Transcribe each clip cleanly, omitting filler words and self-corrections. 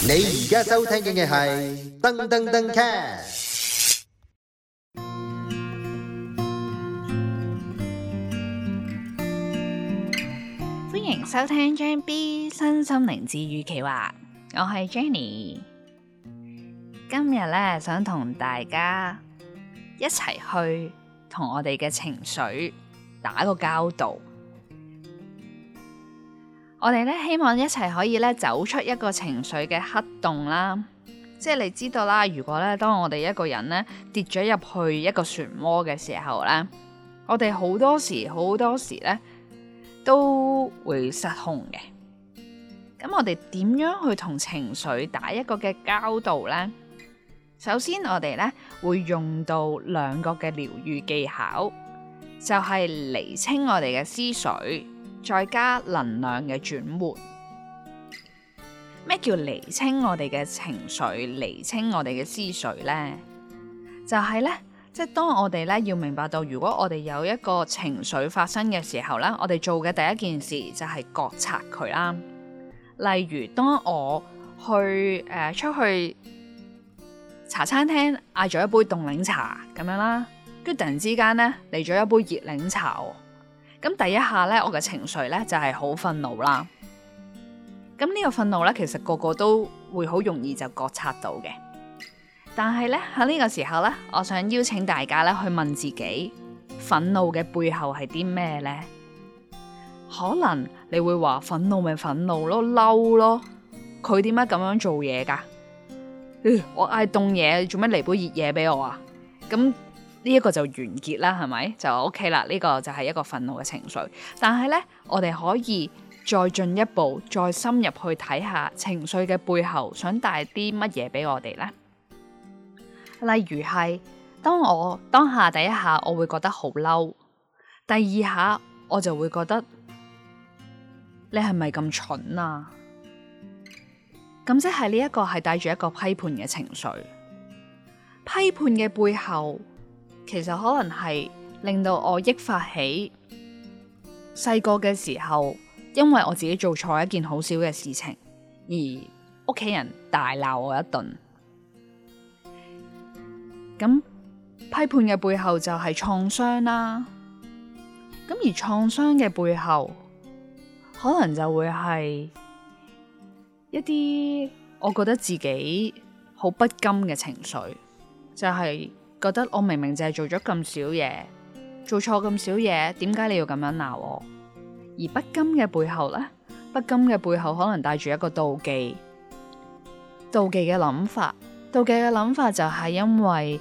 你而家收聽嘅係噔噔噔 cast。 歡迎收聽張 B 身心靈治癒企劃，我係 Jenny。今日咧想同大家一齊去同我哋嘅情緒打個交道。我哋咧希望一齊可以咧走出一個情緒嘅黑洞啦，即係你知道啦。如果咧當我哋一個人咧跌咗入去一個漩渦嘅時候咧，我哋好多時咧都會失控嘅。咁我哋點樣去同情緒打一個嘅交道呢？首先我哋咧會用到兩個嘅療癒技巧，就係釐清我哋嘅思緒，再加能量嘅轉換。咩叫釐清我哋嘅情緒、釐清我哋嘅思緒呢？就係咧，即係當我哋咧要明白到，如果我哋有一個情緒發生嘅時候咧，我哋做嘅第一件事就係覺察佢啦。例如，當我去出去茶餐廳嗌咗一杯凍檸茶咁樣啦，跟住突然之間咧嚟咗一杯熱檸茶喎。咁第一下咧，我嘅情緒咧就係好憤怒啦。咁呢個憤怒咧，其實個個都會好容易就覺察到嘅。但係咧喺呢個時候咧，我想邀請大家咧去問自己，憤怒嘅背後係啲咩呢？可能你會話憤怒咪憤怒咯，嬲咯，佢點解咁樣做嘢噶？我嗌凍嘢，做咩嚟杯熱嘢俾我啊？咁呢一個就完結啦，係咪？就 OK 啦，呢個就係一個憤怒嘅情緒。但係咧，我哋可以再進一步，再深入去睇下情緒嘅背後想帶啲乜嘢俾我哋呢？例如係當下第一下我會覺得好嬲，第二下我就會覺得你係咪咁蠢啊？咁即係呢一個係帶住一個批判嘅情緒。批判嘅背後其實可能係令到我憶發起細個嘅時候，因為我自己做錯一件好小嘅事情，而屋企人大鬧我一頓。咁批判嘅背後就係創傷啦。咁而創傷嘅背後，可能就會係一啲我覺得自己好不甘嘅情緒，就係覺得我明明就係做咗咁少嘢，做錯咁少嘢，點解你要咁樣鬧我？而不甘嘅背後呢？不甘嘅背後可能帶住一個妒忌嘅諗法。妒忌嘅諗法就係因為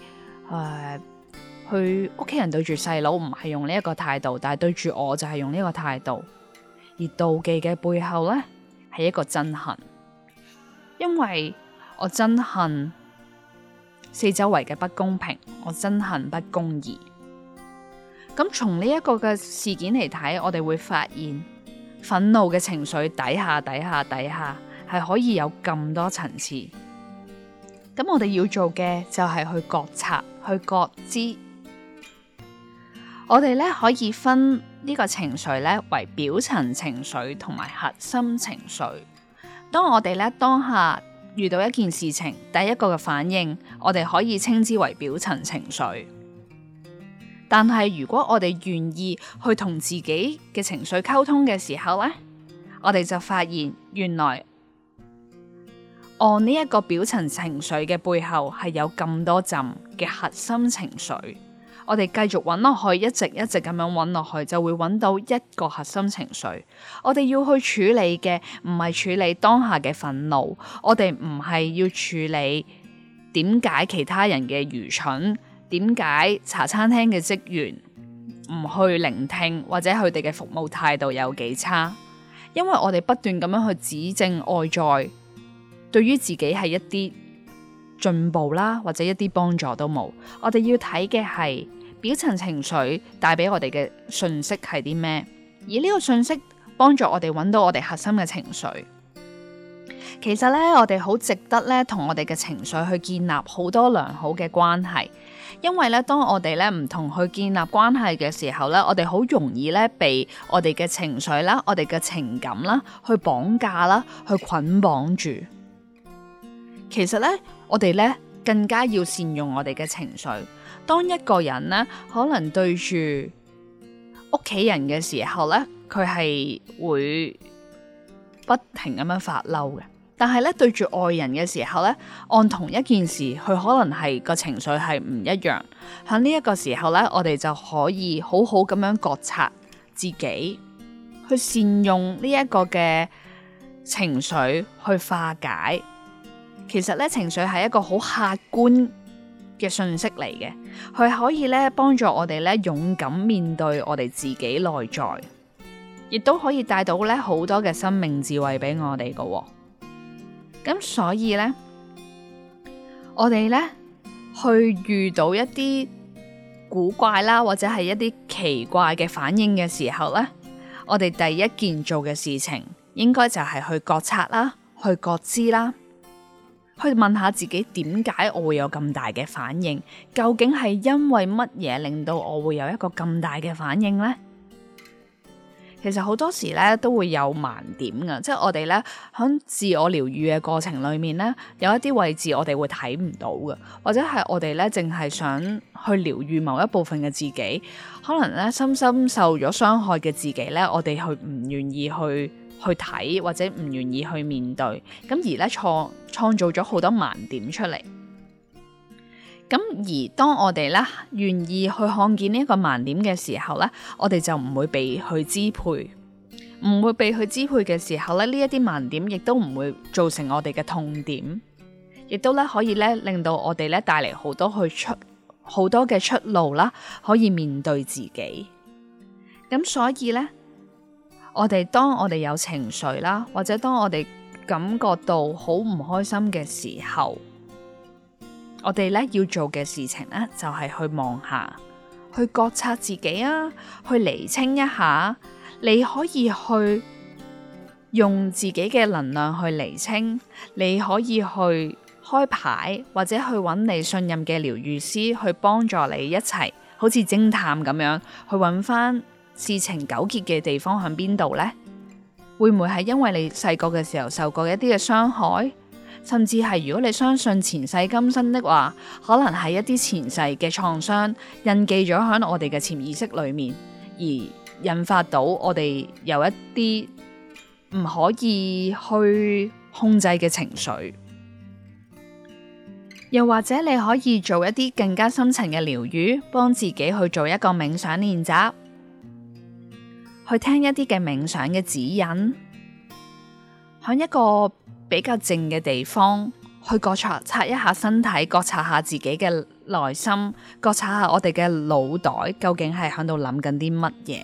佢屋企人對住細佬唔係用呢一個態度，但係對住我就係用呢個態度。而妒忌嘅背後呢，係一個憎恨，因為我憎恨四周圍嘅不公平，我憎恨不公義。咁從呢一個嘅事件嚟睇，我哋會發現憤怒嘅情緒底下係可以有咁多層次。咁我哋要做嘅就係去覺察、去覺知。我哋咧可以分呢個情緒咧為表層情緒同埋核心情緒。當我哋咧當下遇到一件事情，第一個嘅反應，我哋可以稱之為表層情緒。但係如果我哋願意去同自己嘅情緒溝通嘅時候咧，我哋就發現原來呢一個表層情緒嘅背後係有咁多陣嘅核心情緒。我哋繼續揾落去，一直咁樣揾落去，就會揾到一個核心情緒。我哋要去處理嘅唔係處理當下嘅憤怒，我哋唔係要處理點解其他人嘅愚蠢，點解茶餐廳嘅職員唔去聆聽，或者佢哋嘅服務態度有幾差。因為我哋不斷咁樣去指正外在對於自己係一啲進步啦，或者一啲幫助都冇。我哋要睇嘅係表層情緒帶俾我哋嘅訊息係啲咩，而呢個訊息幫助我哋揾到我哋核心嘅情緒。其實咧，我哋好值得咧同我哋嘅情緒去建立好多良好嘅關係，因為咧當我哋咧唔同去建立關係嘅時候咧，我哋好容易咧被我哋嘅情緒啦、我哋嘅情感啦去綁架啦、去捆綁住。 其實呢，我哋呢更加要善用我哋嘅情緒。當一個人呢可能對住屋企人嘅時候呢，佢係會不停咁樣發嬲嘅。但係咧，對住愛人嘅時候咧，按同一件事，佢可能係個情緒係唔一樣。喺呢一個時候咧，我哋就可以好好咁樣覺察自己，去善用呢一個嘅情緒去化解。其實咧，情緒係一個好客觀嘅訊息嚟嘅，佢可以咧幫助我哋咧勇敢面對我哋自己內在，亦都可以帶到咧好多嘅生命智慧俾我哋㗎。咁所以呢，我哋呢去遇到一啲古怪啦，或者係一啲奇怪嘅反應嘅時候呢，我哋第一件做嘅事情，應該就係去覺察啦，去覺知啦，去問下自己點解我會有咁大嘅反應？究竟係因為乜嘢令到我會有一個咁大嘅反應呢？其實好多時咧都會有盲點㗎，即係我哋咧喺自我療癒嘅過程裏面咧，有一啲位置我哋會睇唔到嘅，或者係我哋咧淨係想去療癒某一部分嘅自己，可能咧深深受咗傷害嘅自己咧，我哋去唔願意去睇，或者唔願意去面對，咁而咧創造咗好多盲點出嚟。咁而當我哋咧願意去看見呢一個盲點嘅時候咧，我哋就唔會被去支配，唔會被去支配嘅時候咧，呢一啲盲點亦都唔會造成我哋嘅痛點，亦都咧可以咧令到我哋咧帶嚟好多嘅出路啦，可以面對自己。咁所以咧，當我哋有情緒啦，或者當我哋感覺到好唔開心嘅時候，我哋咧要做嘅事情咧，就係去望下，去覺察自己啊，去釐清一下。你可以去用自己嘅能量去釐清，你可以去開牌，或者去揾你信任嘅療癒師去幫助你一齊，好似偵探咁樣去揾翻事情糾結嘅地方喺邊度呢？會唔會係因為你細個嘅時候受過一啲嘅傷害？甚至係如果你相信前世今生的話，可能係一啲前世嘅創傷印記咗喺我哋嘅潛意識裏面，而引發到我哋有一啲唔可以去控制嘅情緒。又或者你可以做一啲更加深層嘅療癒，幫自己去做一個冥想練習，去聽一啲嘅冥想嘅指引，喺一個比較靜嘅地方，去覺察一下身體，覺察下自己嘅內心，覺察下我哋嘅腦袋究竟係喺度諗緊啲乜嘢。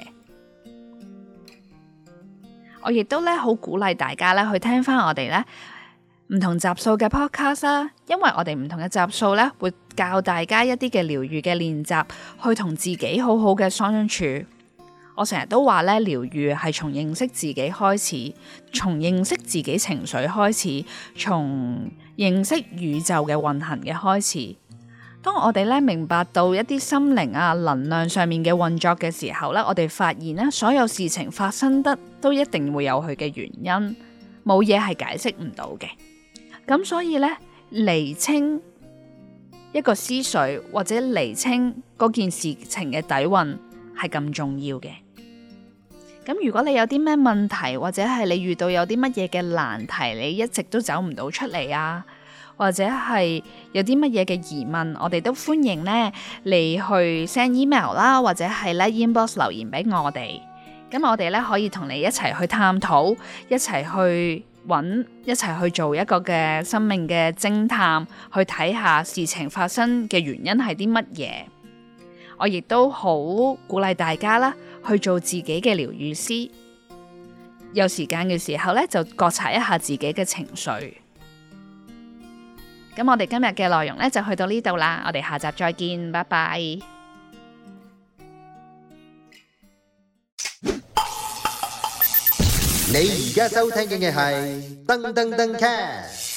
我亦都咧好鼓勵大家咧去聽翻我哋咧唔同集數嘅 podcast 啦，因為我哋唔同嘅集數咧會教大家一啲嘅療癒嘅練習，去同自己好好嘅相處。我成日都話咧，療癒係從認識自己開始，從認識自己情緒開始，從認識宇宙嘅運行嘅開始。當我哋咧明白到一啲心靈啊能量上面嘅運作嘅時候咧，我哋發現咧所有事情發生得都一定會有佢嘅原因，冇嘢係解釋唔到嘅。咁所以咧，釐清一個思緒或者釐清嗰件事情嘅底蘊係咁重要嘅。咁如果你有啲咩問題，或者係你遇到有啲乜嘢嘅難題，你一直都走唔到出嚟啊，或者係有啲乜嘢嘅疑問，我哋都歡迎咧你去 send email 啦，或者係咧 inbox 留言俾我哋。咁我哋咧可以同你一齊去探討，一齊去揾，一齊去做一個嘅生命嘅偵探，去睇下事情發生嘅原因係啲乜嘢。我亦都好鼓勵大家啦，去做自己嘅療癒師。有時間嘅時候咧，就覺察一下自己嘅情緒。咁我哋今日嘅內容咧就去到呢度啦，我哋下集再見，拜拜。 你而家收聽嘅係噔噔噔 cast。